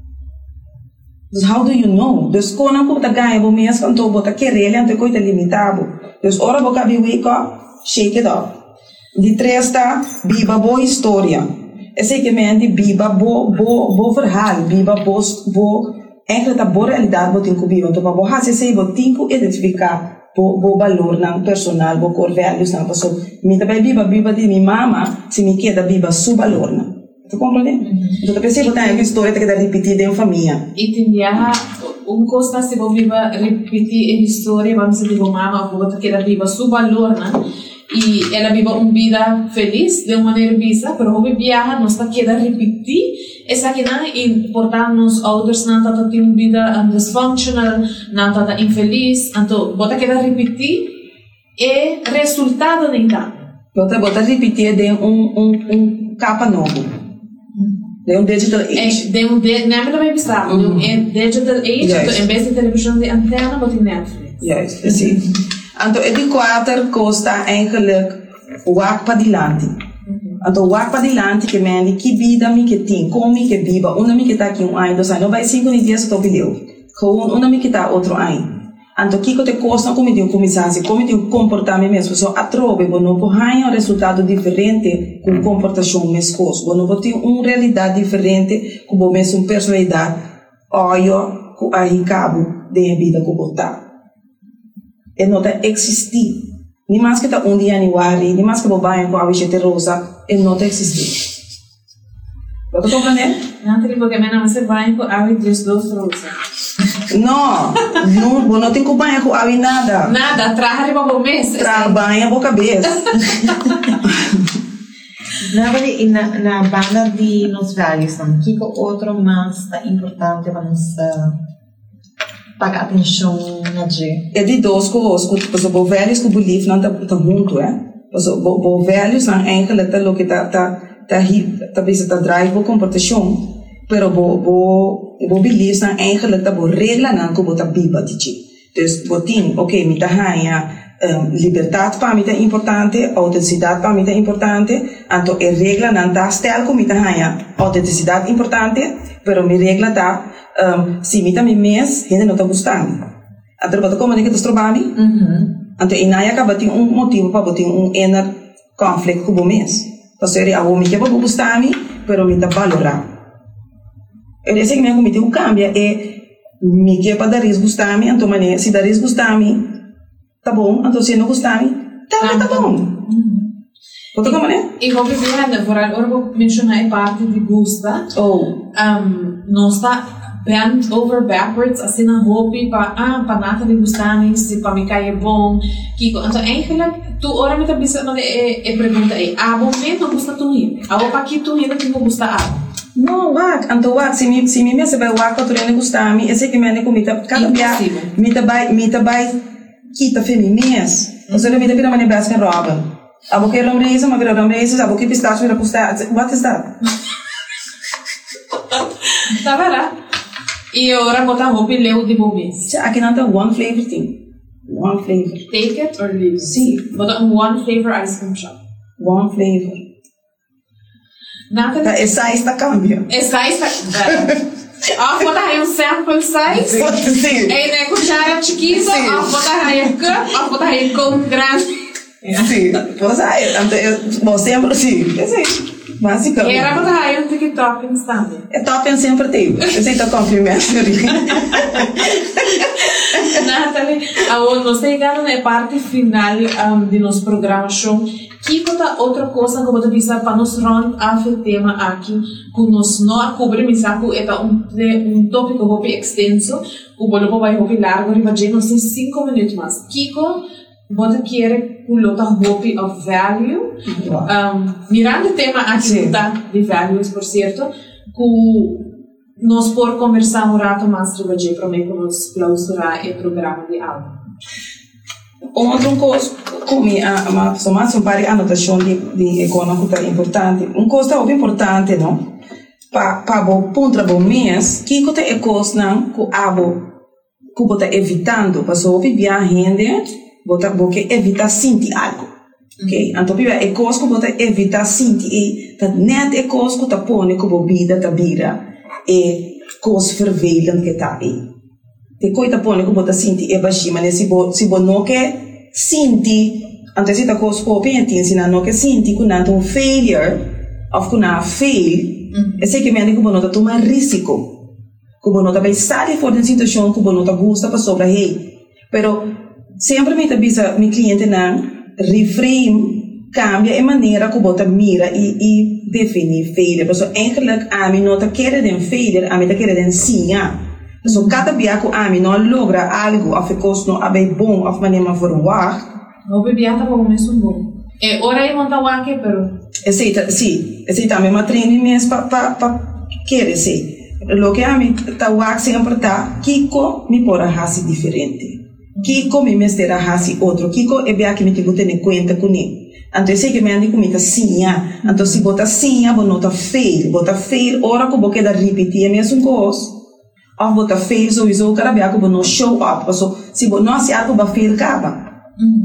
Dus how do you know? Dus quando eu estou ganhando, eu mês quando eu estou querendo, então eu estou limitado. Dus ora eu acabei wake up, shake it up. De três está, biba boa história. Esse que me ande biba bo bo bo verhaal, biba bo bo eigenlijk a boa realidade bo tinko biba. Então bo ha se sei bo tinko identificar bo bo valor na personal, bo core values na pessoa. Me também biba biba de minha mama, se me queda biba su valor na. Tu compreende? Então pensei que tem uma história que deve repetir em família. E tem dia um costa se bo biba repetir a história, vamos dizer bo mama, bo que queda biba su valor na. E ela vive uma vida feliz de uma maneira visa, mas o viaja não está querendo repetir essa que não e portanto nos outros não está tendo uma vida um, dysfunctional, não está infeliz, então bota querendo repetir e resultado nem tá. Bota bota repetir de um um um capa novo, de um digital age. É, de um de não é também bizarro, um digital age, então em vez de televisão de antena bota Netflix. Juist, precies. Então, de quatro costa eigenlijk wak pa dilante. Então, wak pa dilante que me que vida me que tem, como me que viva, uma me que tá aqui um ano, dois anos, não vai cinco dias que eu bilheu. Com uma me que tá outro ano. Então, que que te costa como de um começar, como de um comportamento mesmo, só atrove, bo não pode ganhar um resultado diferente com comportação mesmo, bo não pode ter uma realidade diferente com o mesmo personalidade, olha, com a cabo de vida que botar. E não está existir. Nem mais que está um dia em Wari, nem mais que o banho com a bichete rosa, e não está existir. Pode compreender? Não, tem porque me não se banho com a bichete rosa. Não, não, não tem que banho com a nada. Nada, traga para o mês. Traga banho para a cabeça. Na na banda de nos values, o que outro mais está importante para nós pagar atenção na gente? É de dois coisas, porque os velhos que belief não estão juntos, é? Os velhos não eigenlijk tá lo que tá tá tá tá bisa tá drive o comportação, pero bo bo bo belief não eigenlijk tá bo regla não que bota biba de ti. Dus botin, ok, me tá ganha Um, liberdade para mim é importante, autenticidade para mim é importante, então a regra não está stel como me ganha autenticidade importante, pero minha regra está um, se me também mês ainda não está gostando, então para como é que tu trabalha, então e não acaba tendo um motivo para botar um inner conflito com o mês, então se eu me que vou gostar me, pero me está valorar, eu sei que me comete um cambio é me que para dar risco gostar me, então maneira se dar risco gostar me tá bom, então se não gostar, tá, tá bom. Pode como é? E vou viver, por agora vou mencionar a parte de gosta. Oh. Um, não está bent over backwards, assim na roupa, para ah, para nada de gostar, se para me cair bom. Kiko, então, eigenlijk, tu ora me tá pensando, é, é pergunta é, ah, bom, me não gosta tu rir. Ah, vou para aqui tu rir, não gosta ah. Não, wak, então wak, se me se me me se vai wak, tu não gostar, me, esse que me ane comida, cada dia, me tá vai, me tá vai kita feminines. O sea, me pira mani basket Robin. Abo que romreisa, ma vira romreisa, abo que pistache vira pistache. What is that? Tá vendo? E agora botar roupa e leu de bobês. Aqui não tem one flavor thing. One flavor. Take it or leave it. Sim. Botar um one flavor ice cream shop. One flavor. Nada. Essa está cambia. Essa está. Of botar aí um sample size. Sim. Aí né cuchara chiquita, of botar aí cup, of botar aí copo grande. Sim. Você aí, então sempre sim. Sim. Basicamente. E era botar aí um TikTok também. É top sempre tem. Eu sei que tá cumprimento. Nathalie, agora nós chegamos na parte final um, de nosso programa show. Que outra coisa que eu vou dizer para nós round off o tema aqui, que nós não cobrimos aqui, é um, um tópico muito extenso, o bolo vai muito largo, e vai nos cinco minutos mais. Kiko, você quer pulota hopi of value. Um, mirando o tema aqui de values, por certo, que nós por conversar um rato mais trabalhei para mim para nós clausurar o programa de aula. Outra coisa, como a pessoa mais um par de anotação de de econômico é importante. Um coisa muito importante, não? Para para o ponto do mês, que que é coisa não que abo que bota evitando, para só viajar gente, bota porque evita sentir algo. Ok? Então, piba, é coisa que bota evita sentir e tá net é coisa que tá põe que bebida tá vira é coisa vervelhante que tá aí. Te coisa põe que bota sentir é baixinho, mas se bo se bo não quer sentir, então se tá coisa que pensa, se não quer sentir que não tem um failure, ou que não fail, é sei que me anda que bo não tá tomar risco. Que bo não tá bem sair fora da situação que bo não tá gosta para sobre aí. Pero sempre me tá bisa meu cliente não reframe cambia a maneira que bota mira e e definir failure. Porque eigenlijk a mim não tá querendo failure, a mim tá querendo sim. So cada dia que a mim não logra algo, a ficos não abe bom, a maneira verwacht. O bebê tá bom mesmo bom. É hora de montar o aqui, pero. Esse tá, sim, esse também uma treino mesmo para para para querer ser. Lo que a mim tá o aqui sempre tá, Kiko me pora raci diferente. Kiko me mestera raci outro. Kiko é bem que me tenho que ter conta com ele. Então sei que me andi comigo sim, então se bota sim, vou nota fail, bota fail, ora que vou quedar repetir a mesma coisa. Of bota fail, sowieso, cara bem que vou não show up, so se vou não se algo vai fail acaba.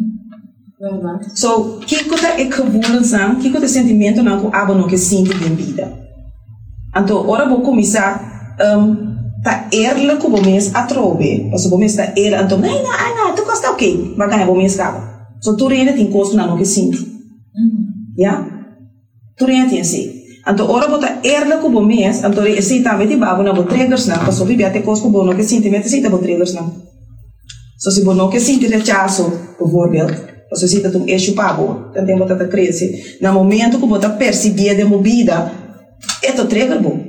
Verdade. So que coisa é que vou que coisa sentimento não que abo não que sente em vida. Então ora vou começar um tá erla que vou mês a trobe, so vou mês tá erla, então não não não, tu gosta ok, vai ganhar vou mês acaba. So tu ainda tem coisa não que sente. Ja? Tu ainda tem assim. Então, ora bota erla que bom mês, então esse também te babo na triggers não, para subir até coisa que bom não que sentimento esse tá triggers não. So se bom não que sente rechaço, por exemplo, você se tá um eixo pabo, então bota tá cresce. No momento que bota perceber de movida, é to trigger bom.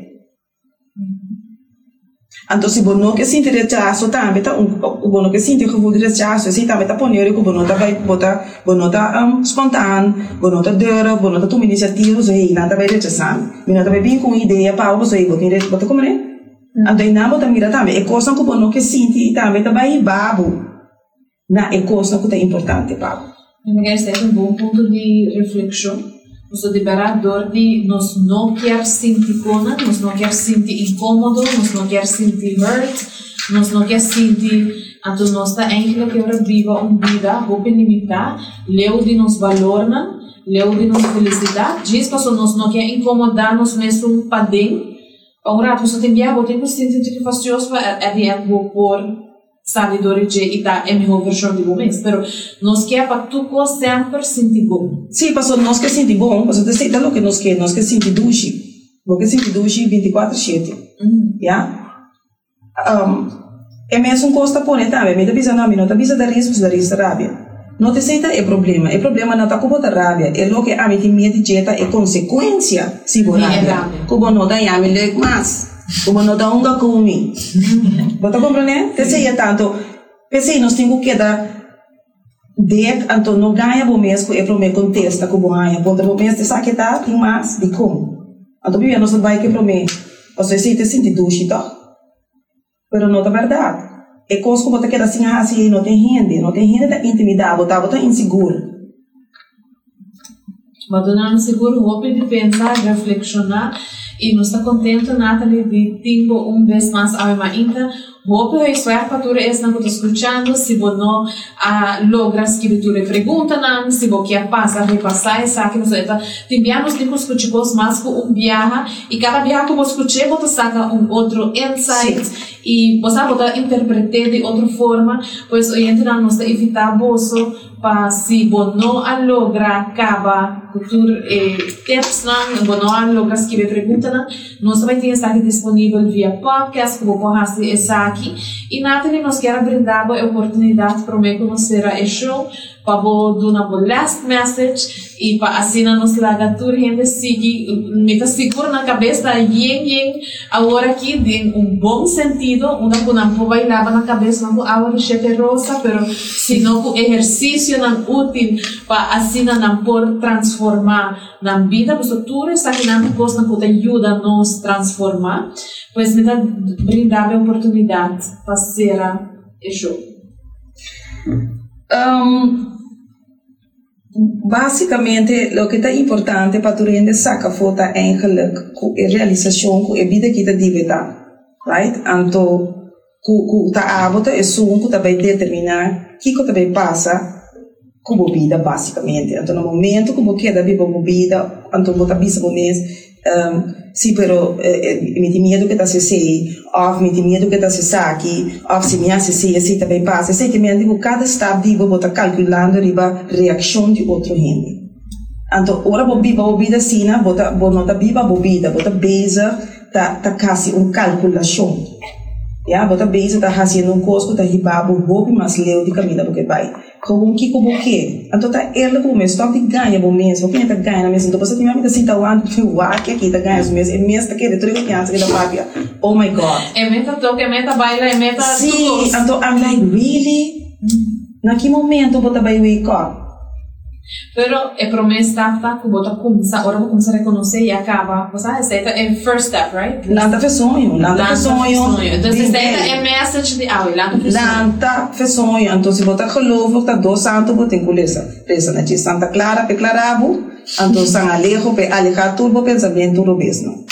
Então se bom não que sente rechaço também tá um bom não que sente que vou rechaço, esse também tá poner que bom não tá vai botar, bom não tá um espontâneo, bom não tá dura, bom não tá tomando iniciativa, so aí não tá vai rechaçar. Me não tá vai vir com ideia para o so aí botar bota como né? Então não bota mira também, é coisa que bom não que sente também tá vai babo. Na é coisa que tá importante babo. Eu me quero ter um bom ponto de reflexão. Nós liberador de nós não quer sentir pena, nós não quer sentir incômodo, nós não quer sentir hurt, nós não quer sentir então nós está ainda que ora viva uma vida hope limitar, leu de nos valor, leu de nos felicidade, diz que nós não quer incomodar nos mesmo para dentro, para um rato, você tem que ter que sentir que faz justo para adiante por sabedoria e da é melhor versão de momento, mas nós quer para tu sempre sentir bom. Sim, passou nós quer sentir bom, passou de ser o que nós quer, nós quer sentir duche, porque sentir duche vinte e quatro sete, já? Um, é mesmo costa por também, me dá visa não, me não dá visa da risco da risco rábia. Não te aceita é problema, é problema não tá com bota rábia, é lo que a mim tem medo de jeta é consequência se for rábia, como não dá já me leg mais. Como não dá um gacumi. Bota compreender? Pensei é tanto. Pensei nós temos que dar dec, então não ganha bom mês que é para o meu contexto que bom ganha. Bota bom mês de saque tá tem mais de como. Então bem nós vai que para o mês. Você se te sente duche tá? Pero não é verdade. É coisa que bota que assim assim não tem rende, não tem rende da intimidade, bota bota inseguro. Bota não inseguro, hope de pensar, reflexionar. E nós está contente, Nathalie, de ter um vez mais a minha ainda. Hope que isso é para tu é não estou escutando. Se você não logra escrever tu pergunta não, se você quer passar, repassar, sabe que nós está. Enviamos de escutar coisas mais com um viaja e cada viaja que você escuta, você saca um outro insight e você pode interpretar de outra forma. Pois hoje então nós está evitar bolso para se você não logra acabar cultura e tips não, você não logra escrever pergunta não, nós vai ter essa disponível via podcast que você pode essa aqui. E Nathalie, nós queremos brindar a oportunidade para me conhecer a show para vou dar uma last message e para assim nos laga toda gente sigue me tá seguro na cabeça yen yen agora aqui tem um bom sentido uma que não pode bailar na cabeça não agora chefe rosa pero se não o exercício não útil para assim não por transformar na vida porque tudo está aqui na coisa que ajuda a nos transformar pois me dá brindar a oportunidade para ser isso um, basicamente o que é importante para tu render saca foto é eigenlijk com a realização com a vida que está divida right então com tá hábito é só um que também determinar que que também passa com a vida basicamente então no momento que você quer viver a vida então você bisa o mês um, sim, pero eh, mi tem medo que tá se sei, ou mi tem medo que tá se saque, ou se me se sei, assim também passa. Sei que me digo cada step digo vou tá calculando riba reação de outro gente. Então, ora vou biba vou vida sina, vou tá vou nota biba vou vida, vou tá beza tá tá quase um calculação. Ya, vou tá beza tá fazendo um costo tá riba vou vou mas leu de caminho porque vai. Como que como que? Então tá ele como mesmo, stop de ganha bom mesmo, porque tá ganha mesmo, então você tem uma vida assim tá lá, o ar que aqui tá ganha mesmo, é mesmo tá querendo tudo que antes que da papia. Oh my god. É meta toque, é meta baila, é meta tudo. Sim, então I'm like really? Naquele momento eu vou tá wake up. Pero é promessa tá que bota começar, agora vou começar a reconhecer e acaba, você receita é first step, right? Lanta fe sonho, lanta fe sonho. Então receita é message de ah, lanta fe sonho. Lanta fe sonho, então se bota geloof, tá dois santo bota em colesa. Pensa na Santa Clara, pe clarabo, então San Alejo, pe alejar turbo pensamento do mesmo.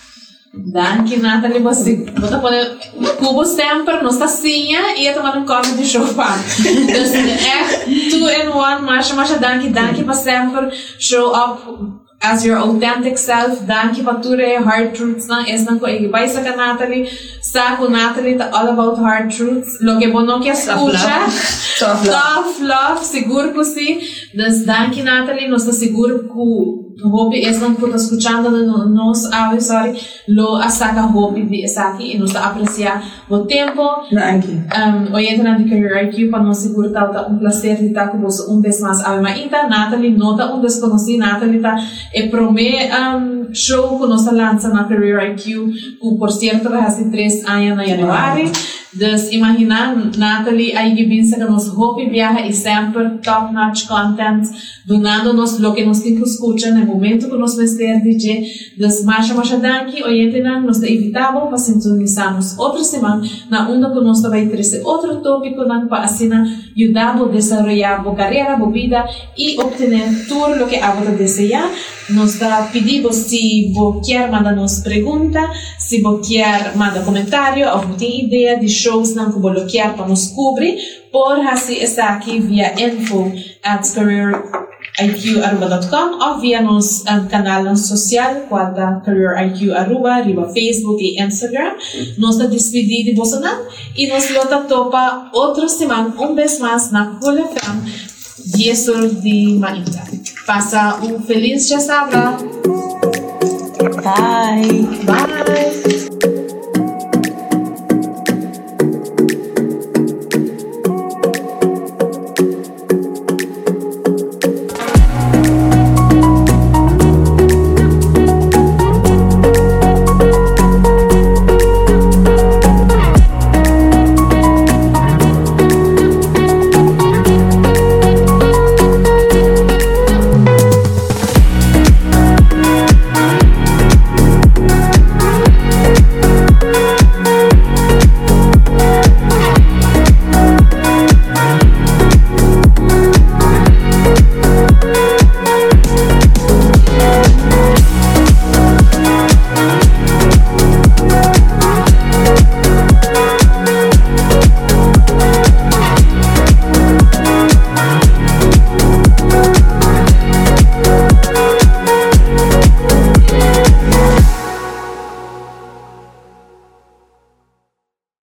Danke, Nathalie, você bota poder cubo sempre nos tacinha e ia tomar um copo de chopa. Então é two in one, marcha, marcha, danke, danke para sempre show up as your authentic self, danke para tudo é hard truths na es não coisa vai sacar Nathalie, saco Nathalie tá all about hard truths, lo que bono que escucha, tough love, seguro que sim, das danke Nathalie, nós tá seguro que hobby es não por escuchando nos ave sorry lo asaca hobby de esaqui e nos apreciar o tempo. Danke. Um, hoje entra na Career I Q para nos seguro tá um prazer de estar com você um vez mais ave maita Nathalie nota um desconhecido Nathalie tá é prome um show que nós lança na Career I Q que por certo vai ser três anos na januário. Dus imagina Nathalie aí que pensa que nos hobby viaja e sempre top notch content donando-nos lo que nos tem que escutar no momento que nos vestir D J. Dus marcha marcha danke hoje nós te evitamos para sintonizarmos outra semana na onda que nós vai trazer outro tópico para assim ajudar a desenvolver a carreira, a vida e obter tudo o que a você deseja. Nós da pedimos se você quer mandar nos pergunta, se você quer mandar comentário ou tem ideia de shows não que você quer para nos cobrir, por assim está aqui via info at career I Q arroba dot com ou via nos um, canal social quadra career I Q arroba riba Facebook e Instagram. Nós da despedir de você e nos lota topa outra semana um vez mais na Cool F M dez horas de manhã. Passa um feliz dia sábado. Bye. Bye.